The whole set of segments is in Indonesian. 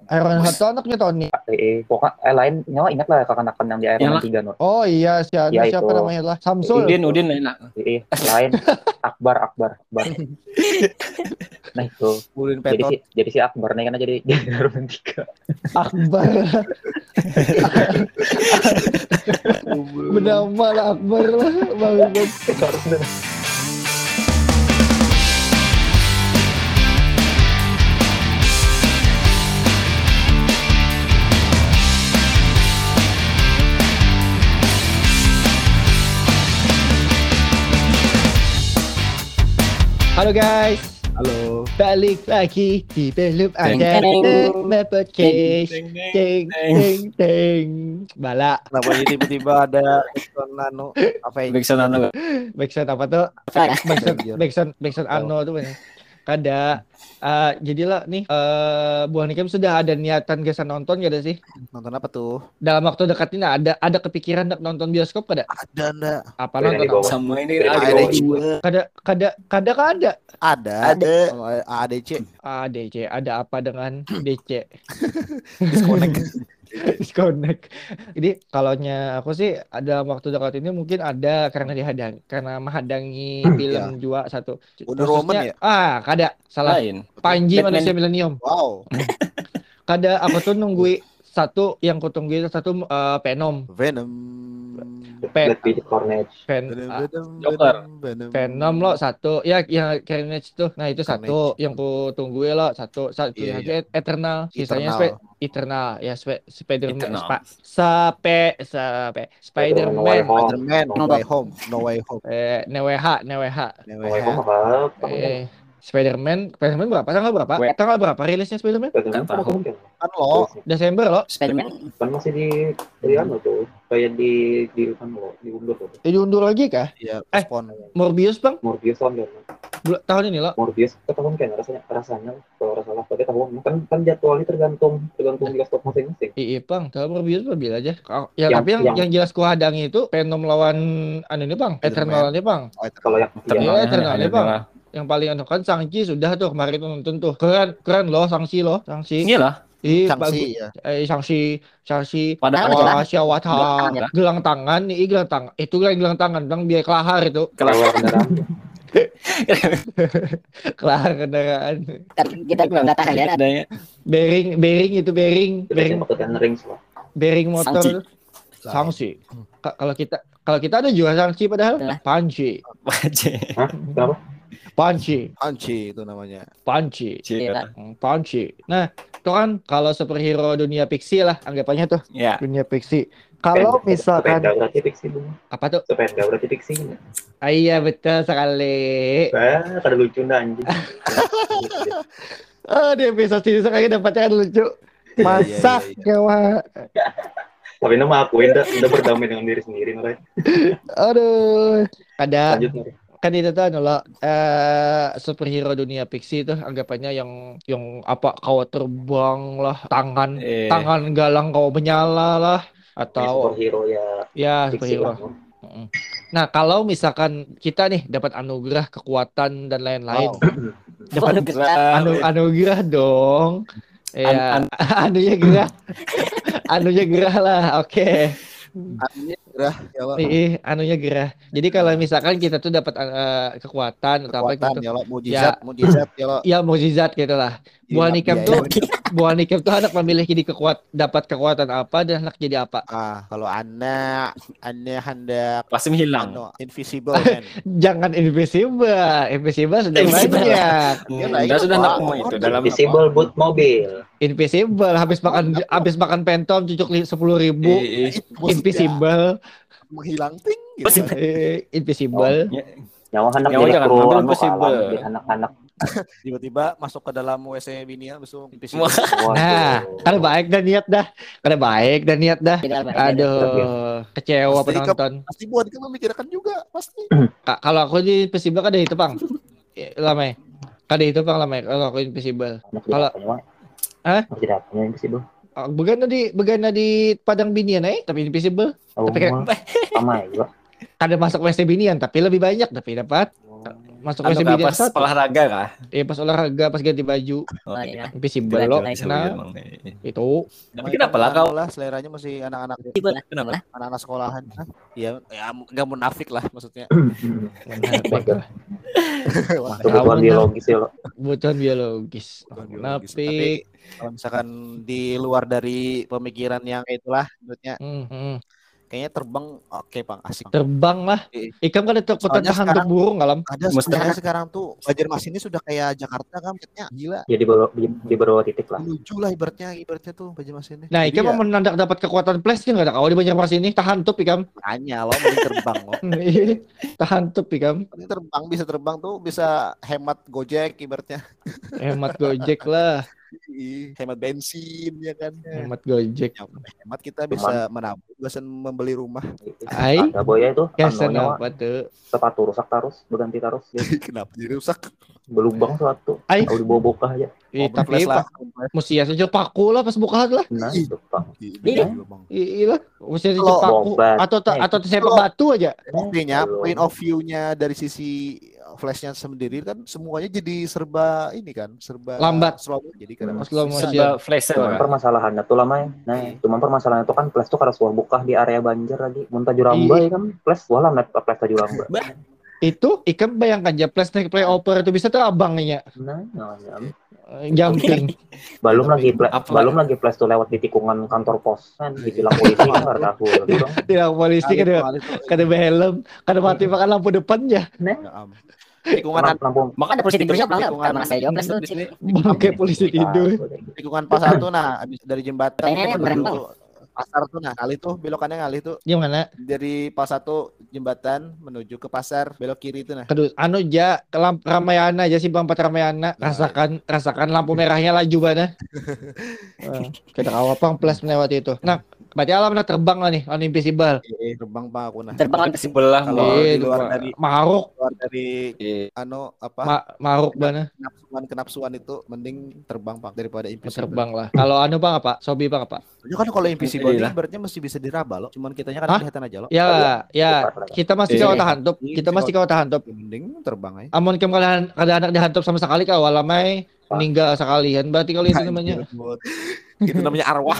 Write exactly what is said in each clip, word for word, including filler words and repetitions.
Iron Man satu anaknya Tony. Eh, pokok eh lain nyawa ingat lah kekanakan yang di Iron Man tiga no. Oh iya, si anu Ya, siapa itu. namanya lah? Samsul. Udin, Udin enak. Eh, lain Akbar, Akbar, Akbar. Nah itu. Udin Jadi Petot. si, jadi si Akbar nih karena jadi jadi Iron Man tiga. Akbar. Bernama lah Akbar lah. Banget. Harusnya. Halo guys, Halo. balik lagi di belum Teng, ada teng. podcast. Teng, teng, Teng teng. teng teng. Bala. Kenapa ini tiba-tiba ada ikon nano apa ini? Backsound anu. Backsound apa tuh? Backsound backsound backsound Oh. Ano tuh bener. Kada. Eh, jadilah nih eh Buah Nikem sudah ada niatan gesan nonton gak ada sih? Nonton apa tuh? Dalam waktu dekat ini ada ada kepikiran nak nonton bioskop kada? Ada ndak? Apa Ada nonton di bawah. apa? Sama ini Ada ada Ada juga. juga. Kada kada kada kada. Ada. Ada. Oh, A D C. Ah, D C, ada apa dengan D C? Disconnect. Disconnect. Jadi kalaunya aku sih ada waktu dekat ini mungkin ada karena dihadang karena menghadangi film juga satu. Wonder Khususnya- Woman ya? Ah, kada. Salah. Lain. Panji Batman. Manusia Milenium. Wow. Kada aku tuh nungguin satu yang ku tungguin satu eh, Venom. Venom. Pen, Black Widow, Carnage. pen, Venom, ah, Venom, Joker. Venom. Venom lo satu ya yang Carnage tuh. Nah, itu satu Carnage. yang ku tungguin lo satu satu Iya, lagi Eternal. Sisanya Eternal. Spe- Eternal ya Spe- Spider-Man Eternal. Spa- Sape Sape Spider-Man No Spider-Man Way Home. Spider-Man, No Way Home, No Way Home. eh Neweha Neweha No Oh, Way emang Home. apa? eh Spider-Man Spider-Man berapa tanggal berapa We- tanggal berapa rilisnya Spider-Man Spider-Man Nggak kan tahu. kan? Kan lo, Desember loh Spiderman. Kan masih di di anu tuh, kayak di di kan lo, diundur tuh. eh, diundur lagi kah ya Eh. respon. Morbius bang Morbius tahun kan? Bul- tahun ini loh Morbius ke tahun kan rasanya rasanya kalau rasa salah pada tahun kan kan jadwalnya tergantung tergantung bioskop masing-masing. iya bang kalau Morbius mobil aja Kau- ya Yang- tapi yang, yang- yang jelas ku hadangi itu Venom lawan anu ini bang Eternal ini bang Oh, itu. Kalau yang Iya, yang Eternal nih, Bang. yang paling anu kan Shang-Chi sudah tuh kemarin tuh nonton tuh keren keren loh Shang-Chi loh Shang-Chi Iya lah. Ih, Shang-Chi ya. eh Shang-Chi Shang-Chi Padahal Wah, Syawata Gelang tangan. gelang tangan nih gelang tangan itu gelang gelang tangan bang biar kelahar itu kalau kendaraan kelahar kendaraan Kan kita belum data ya. adanya. bearing bearing itu bearing bearing itu yang ring lah. bearing motor Shang-Chi. Shang-Chi Ka- kalau kita kalau kita ada juga Shang-Chi padahal Lah. Panci Aja. Hah? Kenapa? Panci Anci itu namanya. Panci Iya. Hmm, Panci nah itu kan kalau superhero dunia fiksi lah anggapannya tuh Ya. dunia fiksi kalau Sepeda- misalkan sepeda berarti fiksi dong. apa tuh Sepeda berarti fiksi. ah, iya betul sekali Ah, kada lucu dah anjing. ah di episode ini sekali dapatnya kan lucu masa iya, iya. nyawa Tapi nama akuin dah udah berdamai dengan diri sendiri Norai. aduh ada Lanjut Norai. kan itu tuh anu loh, eh superhero dunia fiksi itu anggapannya yang yang apa kau terbang lah tangan Eh. tangan galang kau menyala lah atau Superhero ya ya fiksi superhero. lah. Mm-mm. Nah kalau misalkan kita nih dapat anugerah kekuatan dan lain-lain, dapat anu anugerah dong, ya An- anunya gerah, anunya gerah lah, oke. Artinya gerah ya lo. Ih, anunya gerah. Jadi kalau misalkan kita tuh dapat eh, kekuatan atau apa Kekuatan gitu, ya lo, mujizat, mujizat ya lo. ya mukjizat gitu lah. Buah Iya, Nikem iya, tuh, iya. Buah Nikem tuh anak memilih jadi kekuat, dapat kekuatan apa dan anak jadi apa. Ah, kalau anak anak hendak Pasti menghilang. anu, invisible man. Jangan invisible, invisible sudah Invisible. banyak. Ya, Hmm, nah, Udah itu sudah apa? nak mau itu dalam Visible boot mobil. Invisible habis makan habis makan pentom cucuk sepuluh ribu. Eh, eh. Invisible, Menghilang ting gitu. Invisible. eh, invisible. Ya. Nyawa anak Nyawa jadi jangan kru ngambil anu possible. kalah, jadi anak-anak. Tiba-tiba masuk ke dalam W C bini ya, besok invisible. Wah. Waduh. Nah, kan baik dan niat dah. Kan baik dan niat dah. Aduh, kecewa Pasti penonton. Pasti buat kita memikirkan juga, pasti. Ka- kalau aku di invisible kan ada itu, Bang. Eh, Lama. Kan ada itu, Bang, lama. Kalau aku invisible. Anak Kalau- jadi apanya, Wak? Hah? Anak jadi apanya invisible? Ah, Bukan di bukan di Padang Binian eh, tapi invisible. Oh, Tapi kayak- sama ya juga. Ada masuk W C Binian tapi lebih banyak tapi dapat. masuk Anu W S nggak Binian pas satu. olahraga kah? Eh pas olahraga pas ganti baju Oh, Oh, iya. iya. invisible Jelas, lo. jelas. Nah, Emang nih. itu Tapi kenapa lah kau? lah seleranya masih anak-anak Tiba lah. Kenapa? anak-anak sekolahan. Hah? Iya, ya nggak munafik lah maksudnya. menafik lah. Kebutuhan biologis ya lo. Kebutuhan biologis. Tapi Menafik. kalau misalkan di luar dari pemikiran yang itulah menurutnya Hmm, hmm. kayaknya terbang oke Bang, asik. Terbang lah. Iya. Ikam kan ada kekuatan Soalnya tahan untuk sekarang- burung kalam. Ada Mesti- sebenarnya sekarang tuh Banjarmasin ini sudah kayak Jakarta kan kayaknya gila. Ya di beberapa, di, di beberapa titik lah. Menuju lah ibaratnya ibaratnya tuh Banjarmasin ini. Nah, Jadi Ikam ya, mau menandak dapat kekuatan flash nggak ada kau di Banjarmasin ini tahan tup Ikam. makanya lo mending terbang lo. Tahan tup Ikam. Mending terbang bisa terbang tuh bisa hemat Gojek ibaratnya. Hemat Gojek lah. Ih, hemat bensin ya kan. Hemat Gojek. Ya, hemat kita bisa menabung bisa membeli rumah. Ai. Ada boya itu Kesan anunya, apa tuh? sepatu rusak terus berganti terus dia Kenapa jadi rusak? belubang suatu Ai. kalau dibawa bokah aja. Eh, Mobil tapi flash lah. pak, mesti ya saja paku lah pas buka lah. Nah Ih. itu Pak. Iya, Bang. Iya, mesti saja Kalau paku bobat. atau Eh, atau sepak kalau- batu aja. Intinya Belum. point of view-nya dari sisi flashnya sendiri kan semuanya jadi serba ini kan, serba Lambat. slow jadi kan. Hmm. Slow motion. Serba flasher Cuman lah. permasalahannya tuh lama ya. Nah, cuman permasalahannya tuh kan flash tuh karena suah bukah di area banjir lagi. Mun Tajuramba Iya. ya kan flash wah lah net flash Tajuramba. Itu ikan bayangkan aja plus naik playover itu bisa tuh abangnya Nah, nah, eh, jumping. belum lagi flash, Apa- belum lagi flash tuh lewat di tikungan kantor pos kan ditilang polisi kan karena aku gitu. Tidak polisi kan ada kada helm, kada mati makan lampu depannya. Nah, Tikungan lampu Maka Ada polisi tidurnya Tikungan- bang, karena saya jawab di tuh. sini. Bangke polisi tidur. tikungan pas satu nah habis dari jembatan Pertanyaannya menuju berembang. pasar tuh nah kali tuh belokannya kali tuh Gimana? dari pas satu jembatan menuju ke pasar belok kiri itu nah. Kedua, anu ja ke lamp Ramayana aja sih Bang Ramayana. Rasakan rasakan lampu merahnya laju mana. Eh, Kita awal pang plus melewati itu. Nah, berarti alam udah terbang lah nih, on invisible. Eh, terbang Pak aku nah. Terbang Di sebelah Kalau mau. di Eh, luar ma- dari- maruk, Keluar dari Iya. anu apa ma- maruk mana? kenapsuan kenapsuan itu mending terbang Pak daripada invisible. Terbang lah. Kalau anu Bang apa? Sobi Bang apa? Ya kan kalau invisible Iya ini lah. ibaratnya masih bisa diraba loh. Cuman kitanya kan Hah? kelihatan aja loh. Ya, ya, Cepat lah. kita masih Iya. kau tahan top. Kita masih kau tahan top. Ya, mending terbang aja. Amun kem kalian kada anak dihantop sama sekali kau walamai meninggal sekalian. Berarti kalau itu namanya Itu namanya arwah.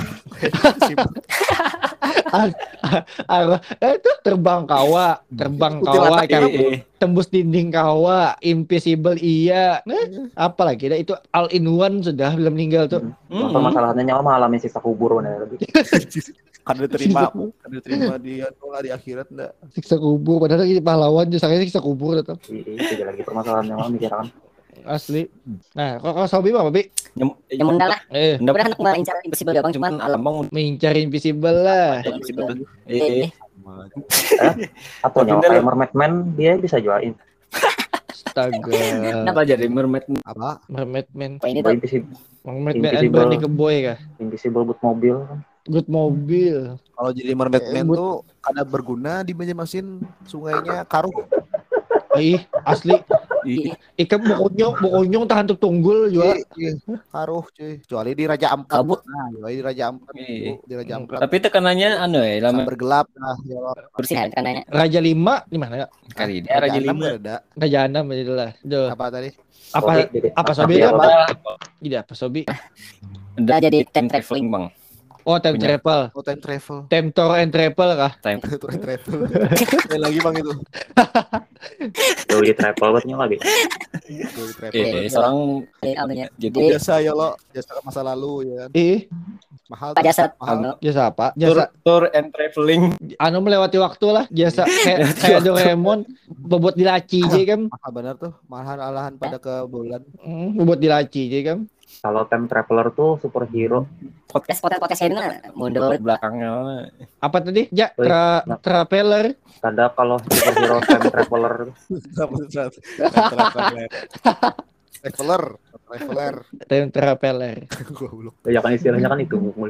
arwah. Eh, itu terbang kawa, terbang kawa, Kuntilanak kan. Eh, Tembus dinding kawa, invisible iya. Nah, apa lagi dah itu all in one sudah belum meninggal tuh. Cuman mm, permasalahannya nyawa mengalami sisa kubur nah lagi. Kan diterima, kan diterima di anu lah di akhirat enggak. Siksa kubur padahal ini pahlawan justru siksa kubur tetap Itu lagi permasalahan yang mikir kan. asli. Nah, kok kau Sobi Bang, Bi? nyem- Yang mendal lah. Eh, Nggak- Udah anak mengincar invisible ya bang, cuman cuman kalau abang mengincar invisible lah. invisible. eh, Eh, Atau nyawa Tapi kayak Mermaid Man dia bisa jualin. Astaga. kenapa jadi mermaid? Apa? Mermaid Man. Kok ini Boy tuh invisible, Mermaid Man and Invisible. Bernie ke boy kah? invisible boot mobil kan. Good mobil. Kalau jadi mermaid Eh, man but- tuh ada berguna di Banjarmasin sungainya Karuh. Ih, asli. Ih, Ikan bokonyong, bokonyong tahan tuh tunggul juga. Iya, iya. Karuh cuy. Kecuali di Raja Ampat. Kabut. Nah, kecuali di Raja Ampat. Iya. Bu, di Raja Ampat. tapi tekanannya anu ya lama Sambar gelap nah ya Allah. bersih kan tandanya. Raja lima di mana ya? kali dia Raja Enam Lima. ada. Raja enam itulah. Duh. Apa tadi? Apa Sorry, Dede. apa Maaf Sobi ya, apa? Bapak. Tidak apa Sobi? Udah jadi time time traveling bang. Oh, time Punya. travel. Oh, time travel. Time tour and travel kah? Time Itu time travel. Ada lagi bang itu. Tuh di travel buatnya lagi. Itu di travel. eh seorang Eh, anunya. jadi Jadi Biasa ya lo, jasa masa lalu ya kan. Ih, Mahal. Pak Jasad. Mahal. jasa apa? tour, Jasa tour and traveling. anu melewati waktu lah. Jasa kayak kayak Doraemon bobot di laci aja kan. Mahal benar tuh. Mahal alahan pada ke bulan. Hmm, bobot di laci aja kan. Kalau time traveler tuh superhero. Podcast podcast podcast saya dengar mundur. Belakangnya Apa tadi? Ja, Wih, tra nah. traveler. Ada kalau superhero time traveler Traveler. Traveler. Traveler. Time traveler. Goblok. ya kan istilahnya kan itu mul.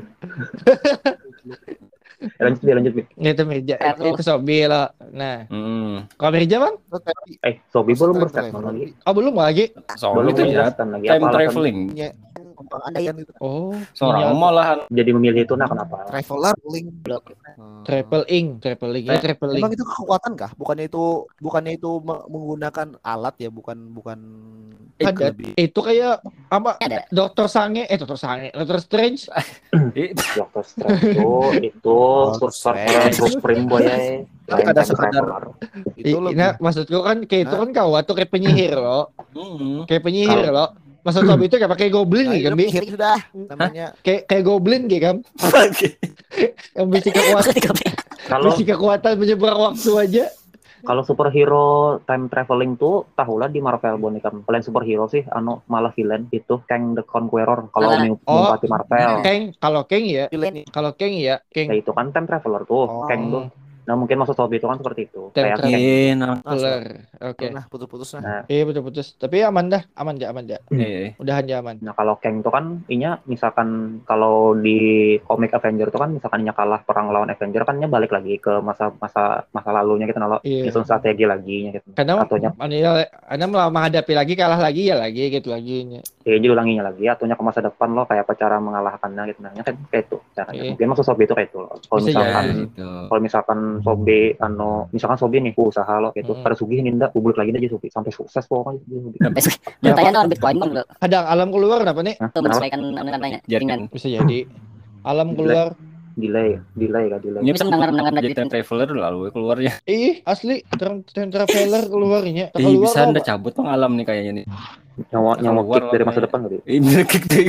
Ya, lanjut dia lanjut Bi. Itu meja. Itu Sobi lah. Nah, hmm. kalau meja bang? Tapi Eh, Sobi belum Time berstatement traveler. lagi. Oh belum lagi. soalnya Belum itu ya berstatement lagi time apa alasan? traveling. numpang andaian gitu. Oh, Seorang ini apa? malahan Jadi memilih itu nah kenapa? Traveler link. Hmm. Traveling, traveling, ya traveling. Emang itu kekuatan kah? Bukannya itu bukannya itu me- menggunakan alat ya, bukan bukan Ada. lebih. Itu kayak apa? Ada. Dokter Sange, eh Dokter Sange, Dokter Strange. Eh, Dokter Strange itu itu Dokter sorcerer Strange. supreme boy ya. Tapi Lain ada time sekadar traveler. itu I- lebih. Nah, maksudku kan kayak itu Hah? kan kawat tuh kayak penyihir loh. hmm. Kayak penyihir loh. Maksud Sobi itu kayak pakai goblin Nah, nih itu kan, Bi? penyihir sudah namanya. Kayak kayak goblin gitu kan. Yang bisa kekuatan, Kalau bisa kekuatan menyeberang waktu aja. kalau superhero time traveling tuh tahulah di Marvel boneka. Kalian superhero sih anu malah villain itu Kang the Conqueror kalau Malah. mau Oh. Bupati Marvel. Keng, kalau Keng ya, Villain. kalau Keng ya, Keng. Ya itu kan time traveler tuh, Oh. Kang tuh. Nah mungkin maksud Sobi itu kan seperti itu. Time Kayak traveler. Kang. Iya, nah. Keluar. Oke. Nah, putus-putus nah. Nah, Iya putus-putus. Tapi aman dah, aman dah, aman dah. Iya. Udahan aja aman. nah kalau Kang itu kan inya misalkan kalau di komik Avenger itu kan misalkan inya kalah perang lawan Avenger kan inya balik lagi ke masa masa masa lalunya gitu nalo. Iya. Nyusun strategi lagi nya gitu. Karena Atunya Anda Anda malah menghadapi lagi kalah lagi ya lagi gitu lagi. ya jadi ulanginya lagi atunya ke masa depan lo kayak apa cara mengalahkannya gitu. Nah, nya kan kayak itu caranya. Iya. Mungkin maksud Sobi itu kayak itu. Kalau Bisa misalkan jadi. Gitu. kalau misalkan Sobi anu misalkan Sobi nih usaha lo gitu Hmm. pada sugih ninda publik lagi aja Sobi sampai sukses pokoknya. Bertanya orang Bitcoin bang, lo Kadang alam keluar kenapa nih? Hah? tuh Kenapa? menyesuaikan anu tanya. Jaringan. Bisa jadi. Alam keluar. Delay, delay kan delay. Ini Bisa mendengar mendengar jadi time traveler lalu keluarnya. Ih, asli time time traveler keluarnya. Tak Ih, keluar bisa apa? anda cabut pengalaman nih kayaknya nih. Nyawa nyawa Keluar kick dari lah, masa kayak. depan tadi. Ih, bener kick dari.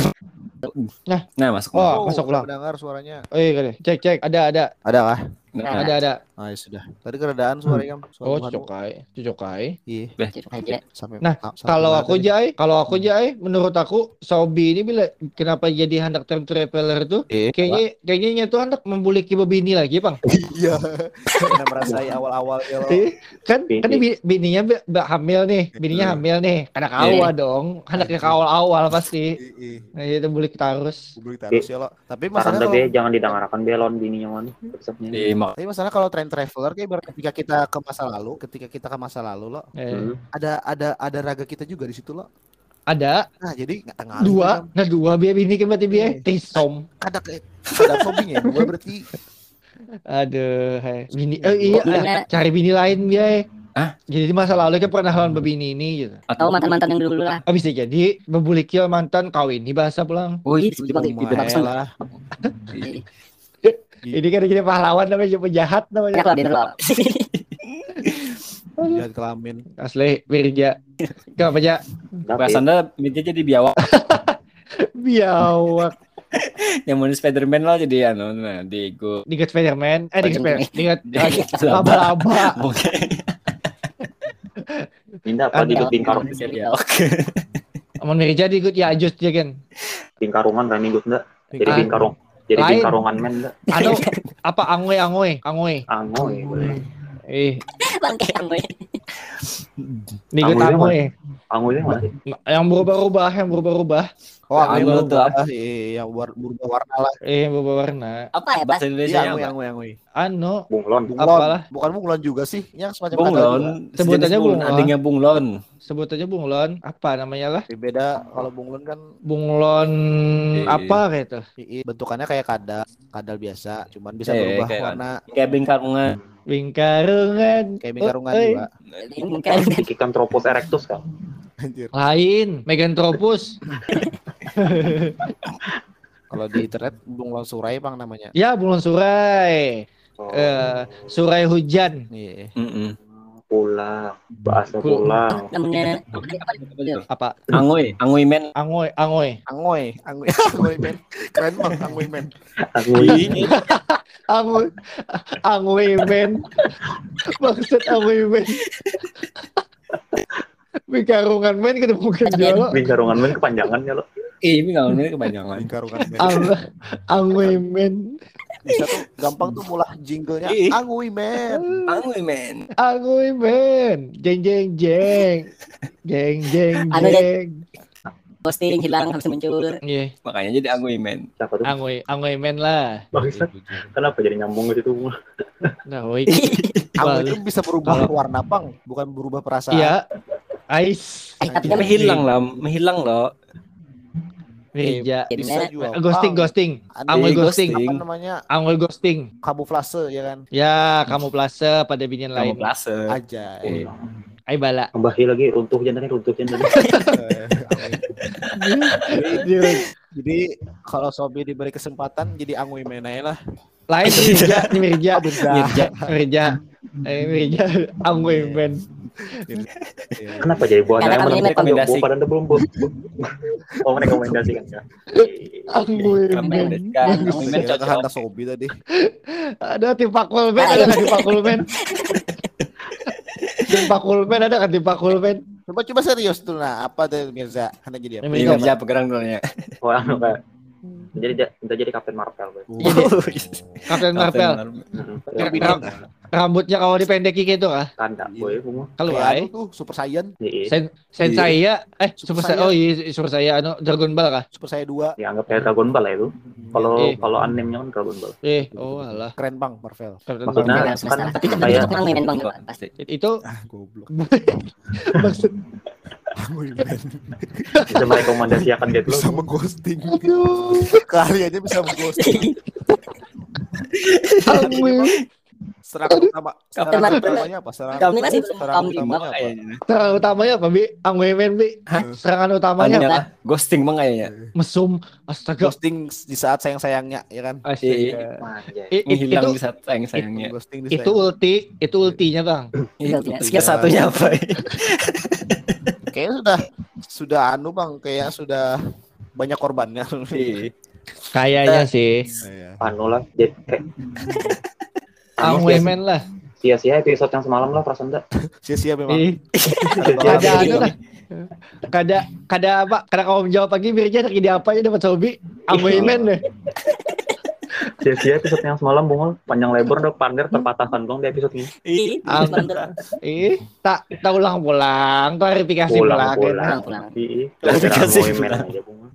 Nah. Nah, masuk. Oh, masuk ulang. Dengar suaranya. Oh iya kali. Cek cek. Ada ada. Ada kah? Nah, Ada ada. Ah, ya sudah. Tadi keredaan suaranya. Suara Oh, Tuhan. cucokai. Cucokai. Iya. Aja. Sampai Nah, sampai Kalau mana aku tadi? Jai, kalau aku Jai, menurut aku Sobi ini bila kenapa jadi hendak time traveler tuh? Eh, Kayaknya kayaknya nya tuh hendak membuliki bini lagi, Bang. iya. Karena merasai awal-awal ya lo. Eh, kan Bini. kan bi- bininya bi- bi- hamil nih, bininya hamil nih. Anak awal dong, anaknya ke awal-awal pasti. Iya. Nah, itu bulik terus. Publik terus ya lo. Tapi Saran masalahnya tapi kalau jangan didengarkan belon bininya mana. Resepnya. Iya, mak- tapi masalah kalau time traveler kayak ber- ketika kita ke masa lalu, ketika kita ke masa lalu lo, Eh, Hmm. ada ada ada raga kita juga di situ lo. ada Nah, jadi nggak ngaruh dua, kan. nah dua biar bini kan berarti biar Eh. trisom. Ada kayak ada hobinya dua berarti. Aduh, hai. Bini, eh iya, Gimana? ah, cari bini lain biar. Hah? Jadi di masa lalu kan pernah lawan bebini ini gitu. Atau mantan-mantan yang dulu-dulu lah. Oh, bisa jadi membuliki mantan kawin ini bahasa pulang. Oh, Ih, iya. disebut juga Lumayan di bagus lah. Ini kan kita pahlawan namanya penjahat Banyak namanya. lah dia lo. Jahat kelamin. Asli Wirja. Kenapa aja bahasa anda media jadi biawak. biawak. Yang mau Spiderman lah jadi anu, nah, Diego. Digat Spiderman, eh digat Spider, digat Laba. laba-laba. Oke. Ninda apa di Ada. bingkarung Oke. Amun Wirja digut ya ajus dia kan. bingkarungan kan minggu enggak. Jadi Ah. bingkarung. Jadi Lain. bingkarungan men enggak. Anu apa angoy angoy angoy. Angoy boleh. Eh, Bangke yang gue. digat Angoy angoy. Angoy itu mana sih? Yang berubah-ubah, yang berubah-ubah. Oh, Anggo anggo tuh tuh apa? Iya, yang war- berubah warna lah. Eh, yang berubah warna. Apa ya bahasa Bahasa Indonesia Iya, anggo, apa? anggo, anggo. Anu, Bunglon. Bunglon. Apalah. Bukan bunglon juga sih, yang semacam Bunglon. kadal juga. Sebutannya Sejenis bunglon. Adanya bunglon. sebut aja bunglon. Apa namanya lah? Tapi beda kalau bunglon kan Bunglon Eh. apa kayak itu? i- i- bentukannya kayak kadal, kadal biasa, cuman bisa Eh, berubah kayak warna Kayak bingkarungan. Bingkarungan. kayak bingkarungan Eh, eh. juga. Bukan. Picanthropus erectus kan. Anjir. Lain, Meganthropus. Kalau di internet bunglon surai bang namanya. Ya, bunglon surai. Oh, Eh, surai hujan. Iya. Mm-mm. pulang. Bahasa Pul- pulang. Namanya Apa? Angoy, angoy men. Angoy, angoy. Angoy, angoy, angoy men. Keren bang, angoy men. Angoy. Angoy. Angoy men. Maksud angoy men. Bikarungan men ketemu kerja lo. Bingkarungan men kepanjangan ya lo. Eh, ini nggak ini kepanjangan. Lingkarungan men. Ang- Angoy men. Bisa tuh gampang tuh mulai jinglenya Ih. angoy men. Angoy men. Angoy men. Jeng jeng jeng. Jeng jeng Anu, jeng. posting hilang habis muncul. Iya, Makanya jadi angoy men. Siapa tuh? angoy, angoy men lah. Bangsat. Kenapa jadi nyambung ke situ? Nah, woi. Angoy itu bisa berubah Kalau- warna bang, bukan berubah perasaan. Iya. Ice. Eh, tapi kan Menghilang lah, menghilang loh. Mirja. Eh, bisa juga. Ghosting, Bang. ghosting. Ada Angul Eh, ghosting. ghosting. apa namanya? Angul ghosting. Kamuflase ya kan? Ya, kamu plase pada binian lain. Kamuflase. Aja. Eh, Ay bala. Kembali lagi runtuh jantan runtuh jantan. jadi, jadi kalau Sobi diberi kesempatan jadi angui main aja lah. Lain Mirja, ini Mirja. Mirja. Mirja. Eh Mirja Angul men. Kenapa jadi buah Karena yang kami mana mereka rekomendasi. buah pada belum bu. Oh merekomendasi kan ya. Angul men. Rekomendasikan. Angul Saya cocok. kehendak Sobi tadi. Ada tim Pakul men, ada kan tim Pakul men. Tim Pakul men ada kan tim Pakul men. Coba coba serius tuh nah apa tuh Mirza? Hendak jadi apa? Ini Ini Mirja pegerang dulunya. Wah anu kayak jadi minta jadi Kapten Marvel gue. Kapten Marvel. Yang Ram- Rambutnya kalau dipendeki gitu kah? tanda gue bunga. Kalau Kayak ay. anu tuh Super Saiyan, Iya. Sen Sensai ya, eh Super Super Saiyan. Saiyan. Oh iya Super Saiyan anu Dragon Ball kah? Super Saiyan dua. Dianggap kayak Dragon Ball ya itu. Kalau Eh. kalau animenya kan Dragon Ball. Eh, oh alah. Keren bang Marvel. Kapten Maksudnya- Marvel. Bebas semesta. Tapi tetap Kayak- cocok angui men bang pasti. Itu Ah goblok. maksud Angui men. Bisa merekomendasikan gitu Bisa loh. mengghosting. aduh. Keahliannya bisa mengghosting. Angul. Serangan utama. Serangan Marvel. utamanya apa? Serangan Kamu masih serangan kamu utamanya apa? Kayaknya. Serangan utamanya apa, Bi? Angul men, Bi. Serangan utamanya Anunya apa? lah. Ghosting bang kayaknya. Mesum. Astaga. Ghosting di saat sayang-sayangnya ya kan? Astaga. Anjay. I- i- Menghilang itu di saat sayang-sayangnya. Ghosting di itu ulti, itu ultinya, Bang. Iya, Itu iya. tiga satunya apa? Kayaknya sudah sudah anu bang, kayak sudah banyak korbannya. Iya. Kayaknya sih. Anu lah jadi kayak anu, Angul sia- men lah. sia-sia episode yang semalam lah perasaan dah. Sia-sia memang. Ih, Ada ada banget. anu lah. Kada kada apa? Kada kamu menjawab lagi Mirja lagi di apa aja dapat Sobi. Angul men deh. Sia-sia episode yang semalam bungul panjang lebar udah pander terpatahkan dong di episode ini. Ih, Ang- pulang Ih, tak tak ulang-ulang, klarifikasi Pulang, ulang. pulang. ya. pulang. Iya. Klarifikasi Gara-gara pulang. aja bungul.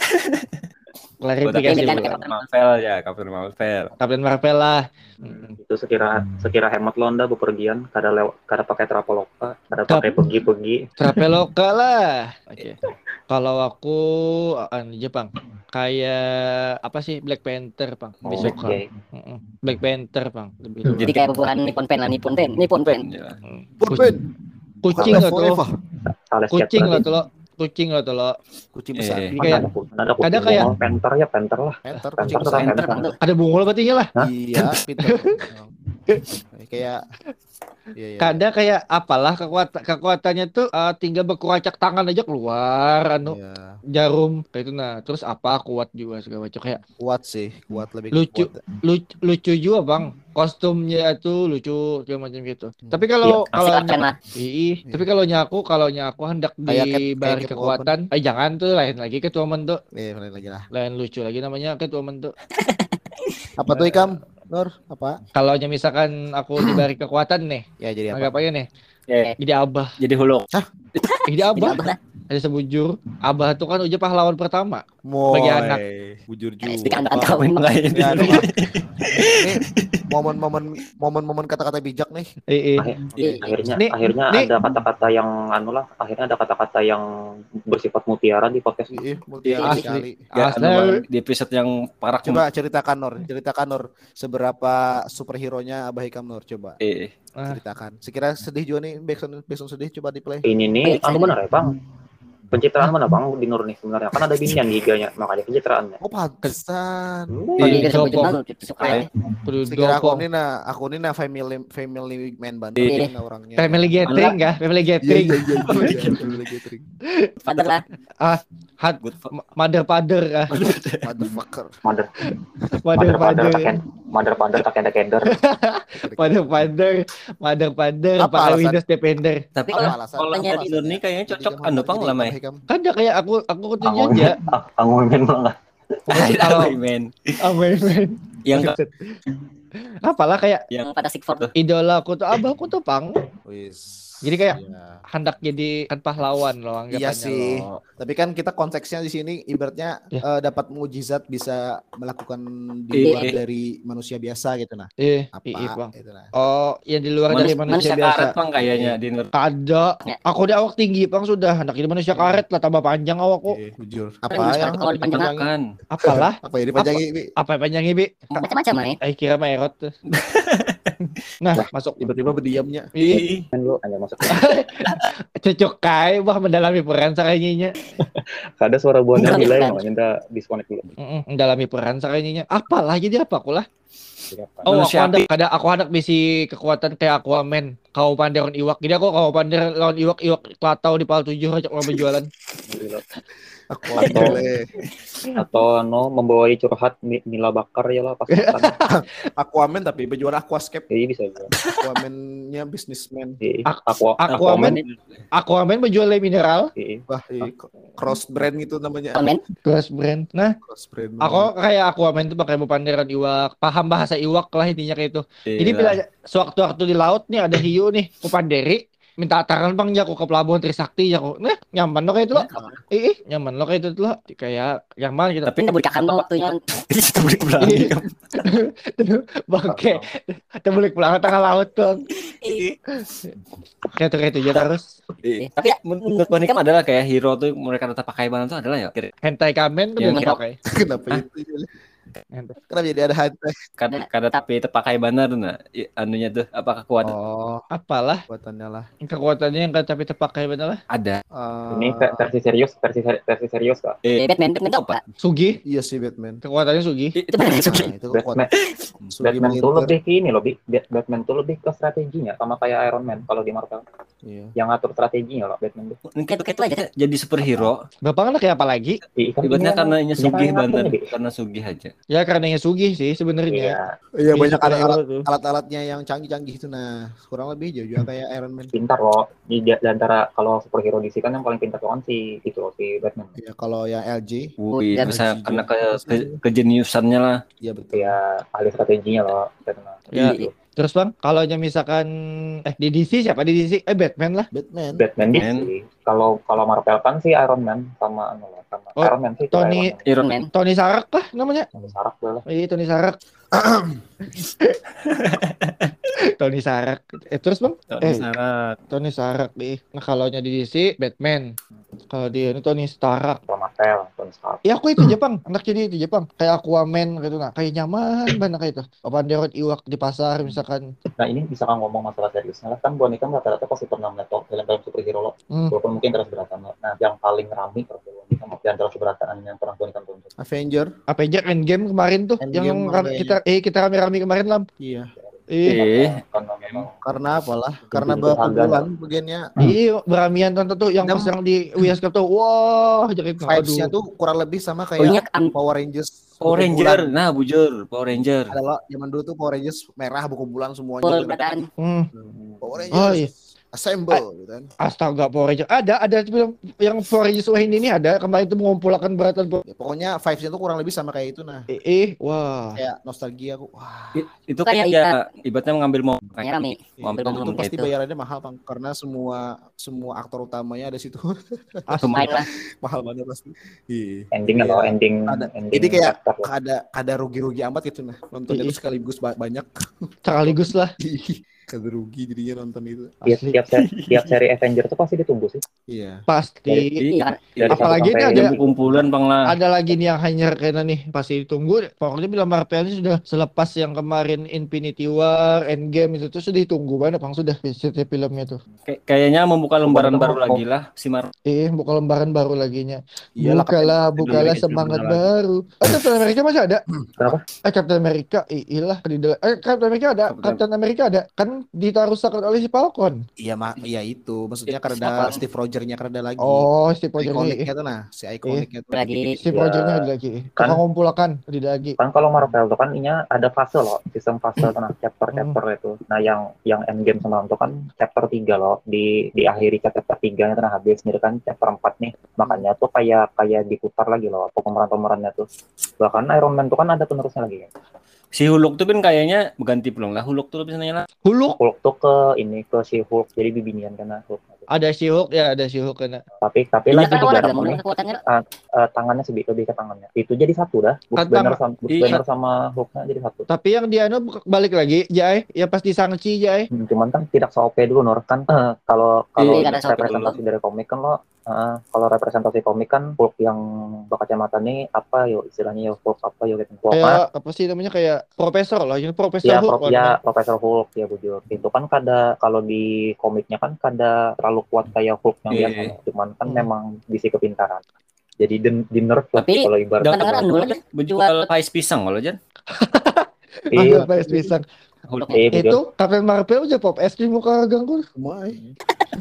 Klarifikasi Udah, ulang. kan, Marvel ya, Captain Marvel. Kapten Marvel lah. Itu sekira sekira hemat lo anda bepergian kada lewat kada pakai traveloka kada pakai pergi-pergi. Traveloka lah. Oke. Kalau aku anu Jepang kayak apa sih Black Panther, Bang. Oh, Lebih suka. oke. Mm-mm. Black Panther, Bang. Lebih suka. Jadi kayak bubuhan Nippon Pen lah, Nippon Pen, Nippon Pen. Ya. Mm. Purpen. Kucing lah tuh. Forever. Tales Kucing chat lah berarti. tuh lo. Kucing lah tuh lo. Kucing besar. Eh. Jadi Mana kayak ada ku- mana ada kucing ada kayak- bungul, panther ya panther lah. Panther, Panther kucing tetap besar. panther. Panther. ada bungul berarti lah. Hah? Iya, pintar. Kayak iya, iya. Kada kayak apalah kekuatan kekuatannya tuh eh, tinggal berkuacak tangan aja keluar anu Iya. jarum kayak itu nah terus apa kuat juga segala macam kayak Kuat sih, kuat lebih Lucu. kuat. lucu, lucu juga bang kostumnya tuh lucu segala macam gitu tapi kalau Asik kalau akan lah. ih tapi kalau nyaku kalau nyaku hendak Kayak cat- diberi kayak Catwoman. kekuatan eh jangan tuh lain lagi Catwoman tuh Eh, lain lagi lah. lain lucu lagi namanya Catwoman tuh Apa tuh Ikam? Nur, apa? kalau misalkan aku diberi kekuatan nih Ya jadi apa? anggap aja nih Eh, jadi abah jadi Hulk. jadi Jadi abah apa lah? ada sebujur abah tuh kan udah pahlawan pertama Moy, Bagi anak. bujur juga. Di kandang-kandang memang. Ya, aduh, ah. Ini momen-momen momen-momen kata-kata bijak nih. eh, eh. Akhir- Iya. akhirnya Nih, akhirnya nih. ada kata-kata yang anu lah akhirnya ada kata-kata yang bersifat mutiara di podcast ini. Ih, mutiara Asli. sekali. Ya, Asli. anu, Bang, di episode yang parah Coba ceritakan Nur, ceritakan Nur seberapa superhero-nya Abah Ikam Nur, coba Eh, Ah. ceritakan. Sekira sedih juga nih, backsound backsound sedih coba di play. Ini nih Baik, anu saya- benar ya bang pencitraan mana bang di Nur nih sebenarnya kan ada binian giganya makanya pencitraannya. Oh, pantesan. Kalau Iya, dia sebut Joko. judul, suka ya. Perlu Sekira aku dopong. ini nah, aku ini nah family family man banget Iya. nah orangnya. Family gathering kah? Family Iya, gathering. iya, iya, iya, iya, family gathering. Padahal lah. Hat good fuck. mother father kah? Motherfucker. Mother Mother mother father. father taken mother father taken kender. Mother father. Mother father Apa pakai alasan? Windows Defender. Tapi Apa kalau alasan? kalau Tanya yang di Nur nih kayaknya cocok Jadi, anu pang jadi, lama Abah ya. Ikam. Kan dia kayak aku aku kutunya Angin aja. angin banget. Kalau men. amen men. Yang Apalah kayak Yang pada Sigford tuh. idola aku tuh abahku tuh pang. Wis. Jadi kayak Iya. hendak jadi kan pahlawan loh anggapannya Iya sih. loh. Tapi kan kita konteksnya di sini ibaratnya Ya. eh, dapat mukjizat bisa melakukan di Iya. luar dari manusia biasa gitu nah. Eh, Apa iya bang. gitu nah. Oh, yang di luar dari manusia, manusia biasa. karet bang kayaknya di Nur. Ada. Ya. Aku udah awak tinggi bang sudah. Hendak jadi manusia karet lah tambah panjang awakku. Oke, jujur. Kan Apa yang kalau dipanjangin. Kan. Apalah? apa yang dipanjangi? Bi? Apa yang panjang Bi? Macam-macam lah nih. Eh kira Maerot tuh. Nah, masuk. Tiba-tiba berdiamnya. Ih, Kan lu hanya masuk. cocok kai bah mendalami peran sakainya. Ada suara buahnya Bukan, nilai bukan. makanya kita disconnect dulu. Mendalami peran sakainya. Apalah jadi apa aku lah? Siapa? Oh, aku Manusia hendak ada aku hendak bisi kekuatan kayak Aquaman. Kau pandai lawan iwak. Jadi aku kau pandai lawan iwak iwak kelatau di pal tujuh ajak orang berjualan. Aku Atau- boleh. Atau no membawai curhat Mi- Mila Bakar ya lah pas makan. Aquaman tapi berjuara aquascape. Jadi bisa juga. Aquaman-nya businessman. Jadi, Ak- aku Aquaman Aquaman berjual bermineral. Wah, iya, cross brand itu namanya. Komen. Cross brand. Nah, Cross brand. aku kayak Aquaman tuh pakai panderan iwak, paham bahasa iwak lah intinya kayak itu. Jadi Iya. bila sewaktu-waktu di laut nih ada hiu nih, ku panderi, minta ataran bang ya aku ke pelabuhan Trisakti ya aku. Nah, nyaman lo kayak itu lo. Ih, ih, nyaman lo kayak itu lo. Kayak nyaman gitu. Tapi Kita berikan lo waktunya. itu boleh berani. Bangke, kita balik pulang ke tengah laut bang. Kayak itu kayak itu aja terus. Iya. Tapi ya, Menurut Bang Nikam adalah kayak hero tuh mereka tetap pakai banget tuh adalah ya. Kira- Hentai kamen tuh Ya, belum kira- pakai. Kenapa itu? Hentai. Kenapa jadi ada hantai? Kada kada tapi terpakai benar nah i- anunya tuh apa kekuatan Oh, Apalah buatannya lah. kekuatannya yang kan tapi terpakai bener lah. ada. Eh, ini ve- versi serius, versi seri- versi serius kak. Eh, Batman, Batman tuh apa? Sugi, Iya sih Batman. kekuatannya Sugi. itu Itu benar yang suki. Nah, itu Batman, kuat. Sugi Batman tuh militer. lebih ke ini loh, Bi. Bat- Batman tuh lebih ke strateginya, sama kayak Iron Man kalau di Marvel. Iya. Yang ngatur strateginya loh, Batman tuh. Kayak begitu aja. jadi superhero. Bapak kayak apa lagi? Di ikan Ibaratnya ini karena emang- ini ini sugih kan banget, ngaturnya, Bi. karena sugih aja. Ya karena yang Sugi sih sebenarnya. Iya, Iya, Iya, banyak superhero alat tuh. alat-alatnya yang canggih-canggih itu nah. Kurang lebih jauh juga kayak Iron Man. pintar loh. Di, di antara kalau superhero D C kan yang paling pintar tuh kan si itu loh, si Batman. Iya, kalau yang L J, Wih, Ya, bisa juga. karena ke, ke kejeniusannya lah. iya betul. Ya, ahli strateginya loh, Batman. Ya. Gitu. Terus bang, kalau nya misalkan eh di D C siapa di D C? Eh Batman lah. Batman. Batman D C. Batman. Kalau kalau Marvel kan si Iron Man sama anu lah, sama Oh, Iron Man sih. itu Tony- Iron Man. Iron Man. Tony Stark lah namanya. Tony Stark lah. Iya Tony Stark. Tony Stark. Eh terus bang? Tony Eh Stark. Tony Stark deh. Nah kalau nya di D C Batman. Kalau dia ini Tony Stark. Kalau Marvel, Tony Stark. Ya aku itu Jepang, anak jadi itu Jepang. Kayak Aquaman gitu nah, kayak nyaman banget kayak itu. Papan derot iwak di pasar misalkan. Nah ini bisa kan ngomong masalah seriusnya lah, kan boneka rata-rata pasti pernah melihat toh film-film superhero loh. Hmm. Walaupun mungkin terus beratan loh. Nah yang paling rame kalau boneka di antara keberatan yang pernah boneka tonton. Avenger. Avenger Endgame kemarin tuh Endgame yang mana ram- ya? kita eh kita rame-rame kemarin lam. Iya. Eh, Eh, Karena memang Karena apalah? Karena Itu harga. berbulan bagiannya. iya beramian tonton tuh yang Dan- pas yang di bioskop tuh. Wah, jadi Vibes-nya tuh kurang lebih sama Oh, kayak iya, am- Power Rangers. Power buku Ranger. bulan. Nah, bujur, Power Ranger. Ada loh, zaman dulu tuh Power Rangers merah buku bulan semuanya. Full gitu. badan. Hmm. Power Rangers. Oh iya. Assemble gitu kan. Astaga Power Ranger. Ada ada film yang Power Rangers Wahini ini ada kemarin itu mengumpulkan beratan Power- Ya, pokoknya vibes-nya tuh kurang lebih sama kayak itu nah. eh, eh wah. Kayak nostalgia aku. Wah. I- Itu Kayak kayak ya ibaratnya mengambil mau Kayak rame. mau ambil Dan momen itu pasti itu. bayarannya mahal bang, karena semua semua aktor utamanya ada situ. Main lah. Mahal banget pasti. Iya. endingnya Iya. loh, ending Ada. ending Ini kayak chapter loh. ada ada rugi-rugi amat gitu nah. Nontonnya Iya. tuh sekaligus ba- banyak. Sekaligus lah. Kada rugi jadinya nonton itu. Tiap, Asli. tiap, seri, tiap seri Avenger tuh pasti ditunggu sih. Iya. Pasti. Iya kan. Dari Apalagi satu ini sampai ada- Ada kumpulan bang lah. Ada lagi nih yang hanya kena nih pasti ditunggu. Pokoknya bilang Marvel ini sudah selepas yang kemarin Infinity War, Endgame itu tuh sudah ditunggu banget bang sudah setiap filmnya tuh. Kay- kayaknya membuka lembaran Pokoknya baru mau- lagi lah si Mar. Eh buka lembaran baru laginya. Iyalah, bukalah, bukalah Amerika semangat juga baru. Oh, Captain America masih ada? Kenapa? Eh Captain America, eh, iyalah di dalam. Eh Captain America ada, Captain- Captain America ada. Kan ditaruh sakat oleh si Falcon. Iya mak, iya itu. Maksudnya karena Siapa? Steve Roger-nya karena lagi. Oh, Steve Rogers Ikoniknya tuh nah, si ikoniknya tuh. Lagi. Steve Ya, Rogers ada lagi. kan- Tukang ngumpulkan di lagi. Kan kalau Marvel tuh kan inya ada fase loh, sistem fase tuh nah, chapter-chapter itu. Nah yang yang Endgame semalam tuh kan chapter tiga loh, di diakhiri chapter tiga nya tuh nah habis nih kan chapter empat nih. Makanya tuh kayak kayak diputar lagi loh pemeran-pemerannya tuh. Bahkan Iron Man tuh kan ada penerusnya lagi kan. Si Hulk tuh kan kayaknya ganti pelong lah. Hulk tuh biasanya lah. Huluk Hulk tuh ke ini ke si Hulk jadi bibinian karena Hulk. ada si Hulk ya, ada si Hulk kena. Tapi tapi Iya, lah Kan di orang jarak gabung ini kekuatannya. eh, tangannya sih lebih ke tangannya. Itu jadi satu dah. Bruce Kata- Banner sama Bruce iya. Banner sama Hulknya jadi satu. Tapi yang dia anu balik lagi, Jai, ya pas di Shang-Chi, Jai. Hmm, cuman kan tidak se-O P dulu Nur kan eh, kalau kalau Iya, karena se-O P representasi dari komik kan lo eh, kalau representasi komik kan Hulk yang berkacamata nih apa yo istilahnya yo Hulk apa yo gitu. Hulk Kayak apa sih namanya, kayak profesor lah, yang profesor ya, Hulk pro, lah, ya kan. Profesor Hulk ya bujur. Itu kan kada kalau di komiknya kan kada terlalu kuat kayak Hulk yang Iya. biasa. Cuman kan Hmm. memang bisi kepintaran. Jadi di, di nerf lah Tapi kalau ibarat Dapat kadang-kadang dulu aja Menjual pais pisang kalau Jan. Iya, Ada P S pisang. Hulk. iya bujur. Itu Captain Marvel aja pop es krim muka ganggu. Semua eh.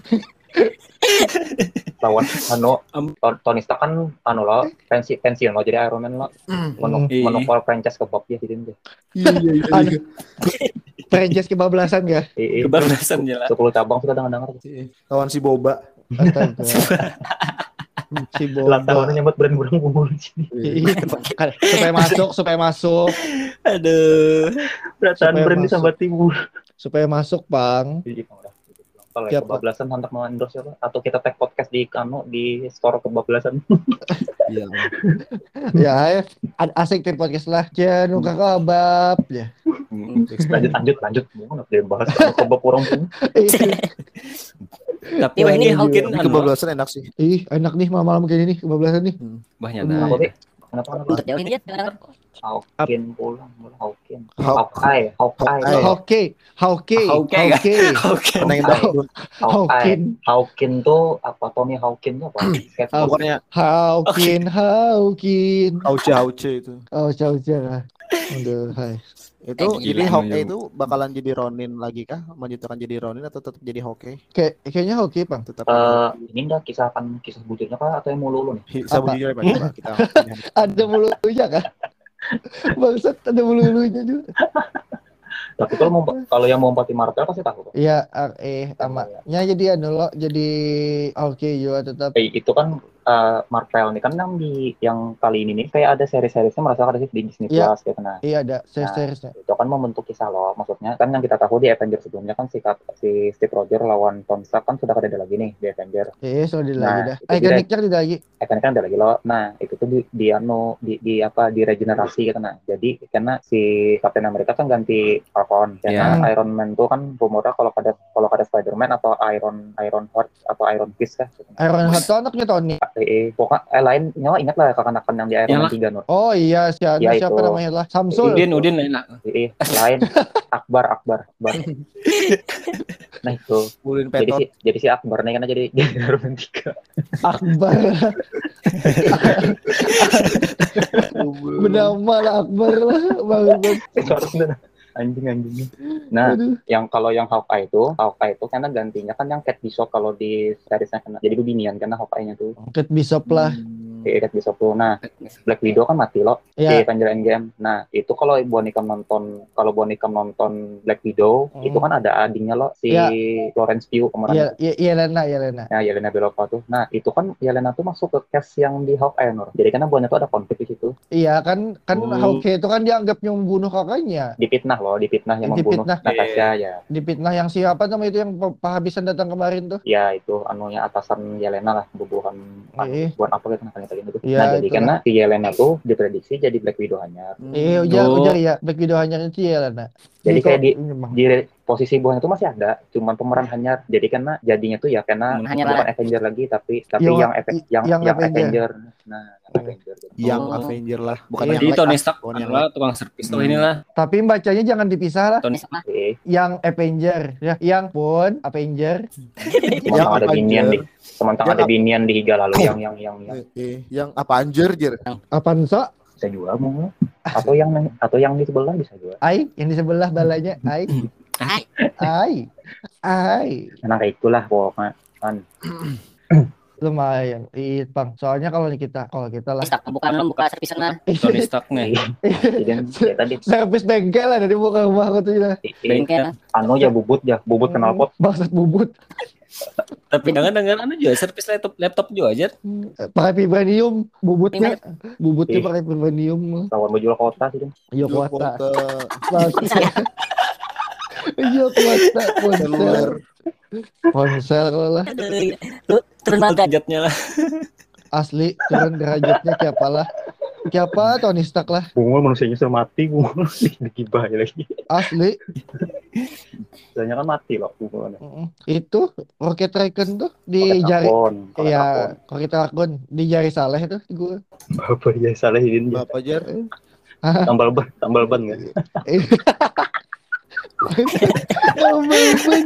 Lawan anu Am- Ton- Tony Stark kan anu lo pensi pensiun lo jadi Iron Man lo menuk Iya. menukar franchise ke Bob ya gitu deh. Iya iya iya. Ada franchise kebablasan gak? Iya, Kebablasan jelas. sepuluh cabang sudah dengar-dengar. Lawan si Boba. Astaga. Si Ulang Boba. tahunnya nyebut brand burung bubur sini. Iya, kan, supaya masuk, supaya masuk, Aduh. Perasaan Supaya brand masuk. disambat timur. supaya masuk, Bang. Jadi udah. Kalau Siap, kebablasan hendak mau endorse apa? Atau kita tag podcast di kanu di store kebablasan. Iya. Ya, ya. Ad- asik tim podcast lah. Jangan nuka kebab ya. lanjut lanjut lanjut. Mau nggak dia bahas kalau kebab orang pun. Tapi Iya, ini iya. Hawkin Tapi anu, kebablasan enak sih. Ih, enak nih malam-malam kayak ini kebablasan nih. banyak Hmm. Kenapa dah. deh? Kenapa kenapa? Untuk jauh ini ya. kadang-kadang. Hawkin pulang, Hawkin. Hawk- Hawkeye, Hawkeye. Hawkeye. Oke, oke, Oke, oke. Oke. Karena yang dangdut. Hawkeye. Hawkin, Hawkin tuh apa? Tony Hawkin tuh apa? Skateboard. Pokoknya Hawkin, Hawkin. Auce Auce itu. Oh, jauh jauh. Aduh, hai. Itu Eh, jadi gila, Hawkeye anu, itu bakalan jadi Ronin lagi kah? Melanjutkan jadi Ronin atau tetap jadi Hawkeye? Kayak kayaknya oke, Bang. Tetap Eh, ini udah kisah kan kisah bujurnya kah atau yang mulu lu nih? Hi- Sabu apa? jujur ya Pak, coba kita. Ada mulunya kan? Bangsat, ada mulunya juga. Tapi kalau mau kalau yang mau empati Marvel pasti tahu kok. Iya, ah, eh, amaknya jadi anu lo, jadi oke juga tetap. Eh, itu kan eh, Marvel nih kan yang di yang kali ini nih kayak ada seri-serisnya merasa ada sih di Disney Iya. Plus gitu nah. Iya ada series-seriesnya. Itu kan membentuk kisah loh, maksudnya kan yang kita tahu di Avengers sebelumnya kan si, Cap- si Steve Rogers lawan Tony Stark kan sudah ada lagi nih di Avengers. Eh, sudah di Nah, lagi dah. itu Ikoniknya di lagi. Eh kan kan ada lagi loh. Nah itu tuh di, di anu di, di apa di regenerasi gitu nah. Jadi karena si Captain America kan ganti Falcon, karena Iya. Iron Man tuh kan rumornya kalau ada kalau ada Spider-Man atau Iron Iron Heart atau Iron Fist kan. Gitu. Nah, Iron Heart tuh anaknya Tony. eh, eh, pokoknya eh, lain nyawa ingat lah kakan-kakan yang di Iron Yang Man tiga Nur. Oh iya, si anu, Ya, siapa itu. namanya lah? Samsul. Udin, Udin enak. Eh, eh, lain Akbar Akbar Akbar. Nah itu. Bulin Jadi Petot. si jadi si Akbar nih karena jadi jadi Iron Man tiga. Akbar. Bernama lah Akbar lah. Bang. Itu harus bener. Anjing anjing. Nah, Aduh. yang kalau yang Hawkeye itu, Hawkeye itu karena gantinya kan yang Kate Bishop kalau di seriesnya kena jadi bebinian karena Hawkeye-nya tuh Kate Bishop lah. di Kate Bishop tuh. Nah, Black Widow kan mati loh di Ya, Avenger Endgame. Nah, itu kalau Ibu Nikam nonton kalau Bu Nikam nonton Black Widow, Hmm. itu kan ada adingnya loh si Ya. Florence Pugh kemarin. iya, iya, iya Lena, iya Lena. Nah, Yelena Belova tuh. Nah, itu kan Yelena tuh masuk ke cast yang di Hawkeye Nur. Jadi karena buahnya tuh ada konflik di situ. Iya kan, kan Hmm. Hawkeye itu kan dianggap yang membunuh kakaknya. Dipitnah loh, dipitnah yang membunuh Dipitnah. Natasha ya. Dipitnah yang siapa nama itu yang pe- penghabisan datang kemarin tuh. Ya itu anunya atasan Yelena lah bubuhan anu, Eh. buat apa gitu nah kayak gitu. Iya, Nah jadi itu karena si Yelena tuh diprediksi jadi Black Widow hanya. Eh, ujar, Oh. ujar ya. Black Widow hanya itu ya Lena. Jadi Ini kayak kok- di ini emang. di posisi buahnya tuh masih ada, cuman pemeran hanya jadi karena jadinya tuh ya karena Hanya bukan Avenger lagi tapi tapi Yang- yang Ave- yang yang yang Avenger. Avenger. Nah, yang Avenger. Yang Oh. Avenger lah, bukan Iya. yang Jadi Black, Tony ah. Stark Bukan yang adalah tukang servis tuh Hmm. inilah. Tapi bacanya jangan dipisah lah. Tony Eh, Yang Avenger, ya, yang pun Avenger. Cuma ada Avenger. binian di sementara Yang ada apa? binian di Higa lalu yang yang yang yang Eh, eh, yang apa anjir jir? Apaan so? bisa juga mau atau yang atau yang di sebelah bisa juga. Ai, yang di sebelah balanya. Ai, Ai. ai, ai. Nah kayak itulah pokoknya kan. lumayan. Iya, Bang. Soalnya kalau kita kalau kita lah Stuck bukan lo buka servis sana. Tony Stark nih. Jadi ya tadi servis bengkel lah dari muka rumah aku tuh ya. i- i- Bengkel. anu ya bubut ya, bubut knalpot. Bangsat bubut. Tapi dengar-dengar anu juga servis laptop laptop juga aja. Pakai vibranium bubutnya. Bubutnya Ih. pakai vibranium. Lawan menjual kota sih. Iya Jual kuota. kuota Iya kuota ponsel. seluler. Ponsel kalau lah. Lu turun banget. Derajatnya lah. Asli turun derajatnya kayak apalah. Kayak apa Tony Stark lah. Bungul manusianya sudah mati, bungul digibah lagi. Asli. Soalnya kan mati loh bungul. Mm, Itu Rocket Raccoon tuh di jari. Iya, Rocket Raccoon di jari Saleh tuh gue. Bapak ya salah ini Bapak Jar. tambal ban, tambal ban nggak? Oh my God.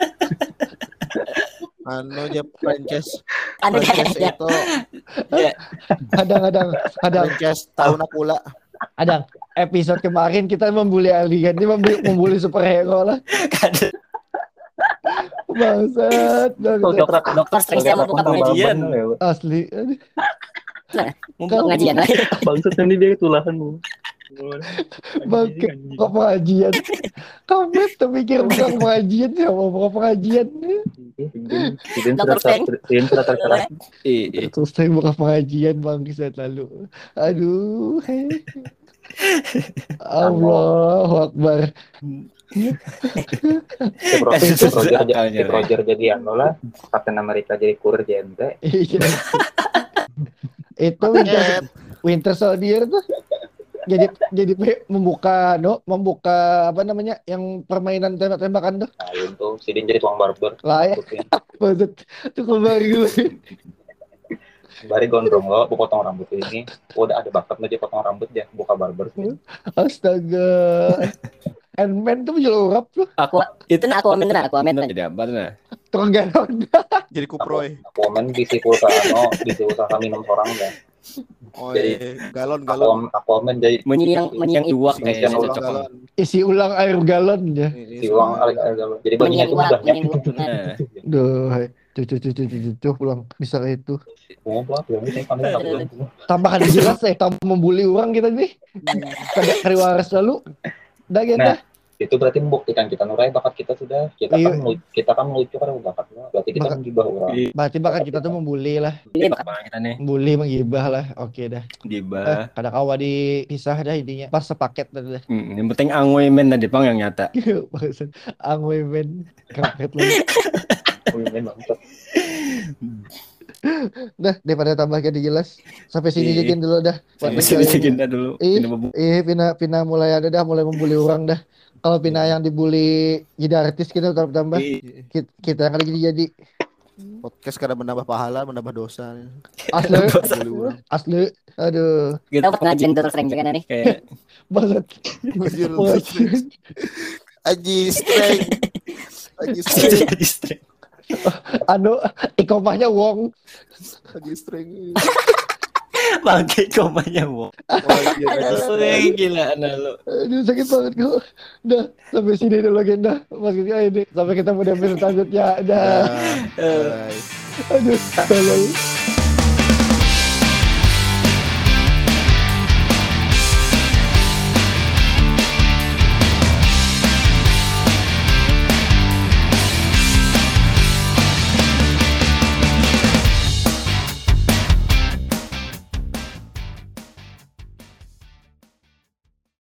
Anu aja franchise. Ada Franchise kayak itu Kadang-kadang, kadang, franchise tahun pula. kadang. Episode kemarin kita membuli alien, ini membuli, membuli superhero lah. Bangsat, bangsat. dokter sering saya mau buka pengajian. Asli. Aduh. Mau Kalau- pengajian lagi. Bangsat ini dia tulahan bu. Bangkit, buka pengajian. Kamu terpikir buka pengajian, ya mau buka pengajian. Dokter Feng. Ini sudah terkeras. Iya. Terus saya buka pengajian bang saya lalu. Aduh. Allahu Akbar. Si Roger, si Roger, si Roger jadi anu lah. Captain America jadi kurir J N T. Iya. Itu Winter, Winter Soldier tuh jadi jadi pe- membuka no membuka apa namanya yang permainan tembak-tembakan tuh Nah itu si Din jadi tukang barber. lah ya. Maksud tuh kembali gue. Bari gondrong lo, bu potong rambut ini. Udah ada bakat aja potong rambut ya, buka barber. Astaga. Ant-Man tuh jual urap tuh Aku itu nah aku beneran aku amen. Jadi apa tuh nah? tukang galon. Jadi kuproy. Aku main bisi pulsa ano, bisi usaha minum orang ya. Oh, Jadi- iya. galon Aku galon. aku main jadi Menyiang menyiang Iwak Yang kayaknya ulang cocok. galon. Isi ulang air galon ya. Ini si uang semua. alih jadi bajunya menyiang itu uang mudah ya. menyiang uang. Nah, Duh, cucu cucu cucu cucu pulang bisa kayak itu. Oh, pulang pulang ini kami tak pulang. Tambahkan jelas ya, tambah membuli orang kita nih. Kada kari waras lalu. Dah kita. Nah, itu berarti membuktikan kita nurai bakat kita sudah. Kita Iya. kan lu- kita kan melucu karena bakatnya. Berarti kita Bakat. menggibah orang. Berarti bakat kita tuh membuli lah. Ini bakal apa kita nih? Membuli menggibah lah. Oke dah. Eh, Gibah. kada kawa dipisah dah intinya. Pas sepaket dah. Hmm, yang penting angwe men tadi pang yang nyata. Maksud angwe men kampret lu. Oh, ini bangsat. Dah daripada tambah jadi jelas. Sampai sini Iya. aja dulu dah. Buat Masih baca bisa ini. kita dulu. Ih. Ini bubuk. Eh Pina Pina mulai ada dah mulai membuli orang dah. Kalau Pina yang dibully jadi artis kita tambah tambah. Ih, Kita, kita yang lagi jadi Podcast kadang menambah pahala, menambah dosa. asli Boleh urang. asli. Aduh. kita dapat pengajian terus sering juga nih. Kayak Banget. Anjir, Banget. Aji streng. Aji streng. jadi streng. Anu ikomahnya Wong. Aji streng. Bangke komanya wo. Wah, iya, Aji streng. Wih, gila anak lu. Aduh sakit banget kok. Dah sampai sini dulu agenda. Maksudnya ini sampai ketemu di episode selanjutnya. Dah. Nah, bye. Aduh. Tolong.